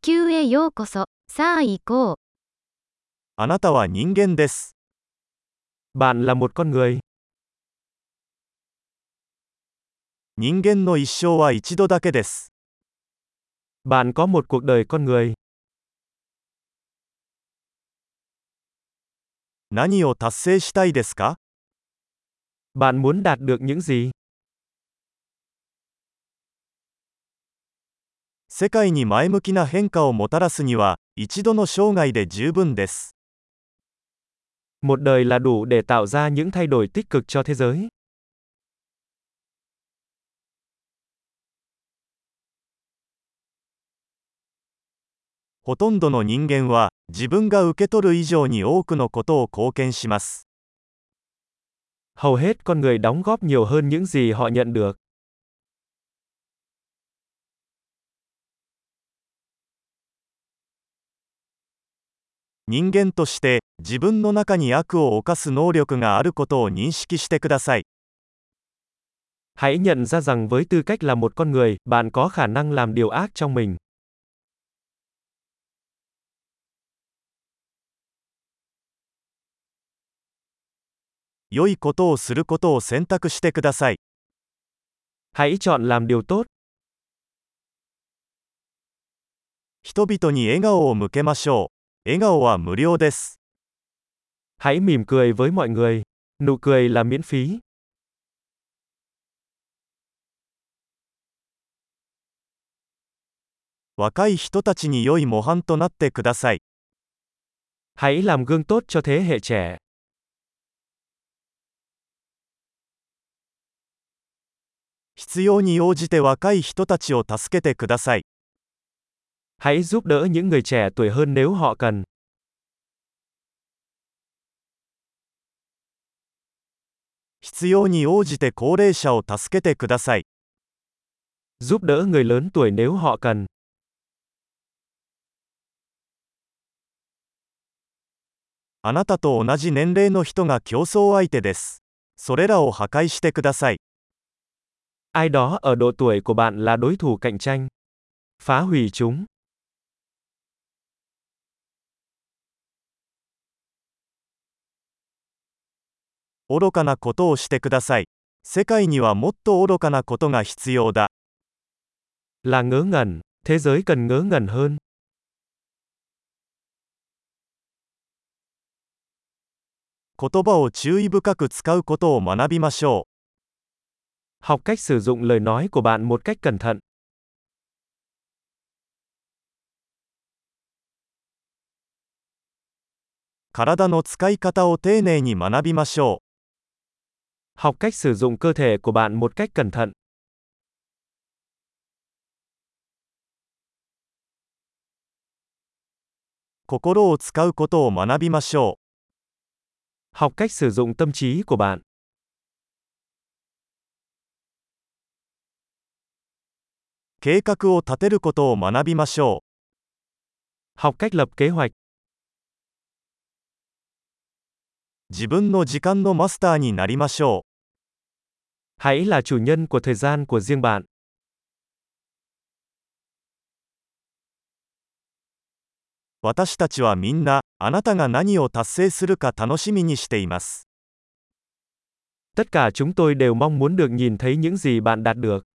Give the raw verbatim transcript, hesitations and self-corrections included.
球へようこそ。さあ行こう。 あなたは人間です。 Bạn là một con người. 人間の一生は一度だけです。 Bạn có một cuộc đời con người. 何を達成したいですか？ Bạn muốn đạt được những gì? 世界に前向きな変化をもたらすには、一度の生涯で十分です。 Một đời là đủ để tạo ra những thay đổi tích cực cho thế giới. ほとんどの人間は、自分が受け取る以上に多くのことを貢献します。 Hầu hết con người đóng góp nhiều hơn những gì họ nhận được. 人間として、自分の中に悪を犯す能力があることを認識してください。 Hãy nhận ra rằng với tư cách là một con người, bạn có khả năng làm điều ác trong mình. 良いことをすることを選択してください。 Hãy chọn làm điều tốt. 人々に笑顔を向けましょう。笑顔は無料です。 Hãy mỉm cười với mọi người. Nụ cười là miễn phí. 若い人たちに良い模範となってください。 Hãy làm gương tốt cho thế hệ trẻ. 必要に応じて若い人たちを助けてください。 Hãy giúp đỡ những người trẻ tuổi hơn nếu họ cần. 必要に応じて高齢者を助けてください。 Giúp đỡ người lớn tuổi nếu họ cần. あなたと同じ年齢の人が競争相手です。それらを破壊してください。 Ai đó ở độ tuổi của bạn là đối thủ cạnh tranh. Phá hủy chúng. 愚かなことをしてください。世界にはもっと愚かなことが必要だ。 Là ngớ ngẩn. Thế giới cần ngớ ngẩn hơn. 言葉を注意深く使うことを学びましょう。 Học cách sử dụng lời nói của bạn một cách cẩn thận. 体の使い方を丁寧に学びましょう。 Học cách sử dụng cơ thể của bạn một cách cẩn thận. 心を使うことを学びましょう。 Học cách sử dụng tâm trí của bạn. 計画を立てることを学びましょう。 Học cách lập kế hoạch. 自分の時間のマスターになりましょう。 Hãy là chủ nhân của thời gian của riêng bạn. 私たちはみんな、あなたが何を達成するか楽しみにしています。 Tất cả chúng tôi đều mong muốn được nhìn thấy những gì bạn đạt được.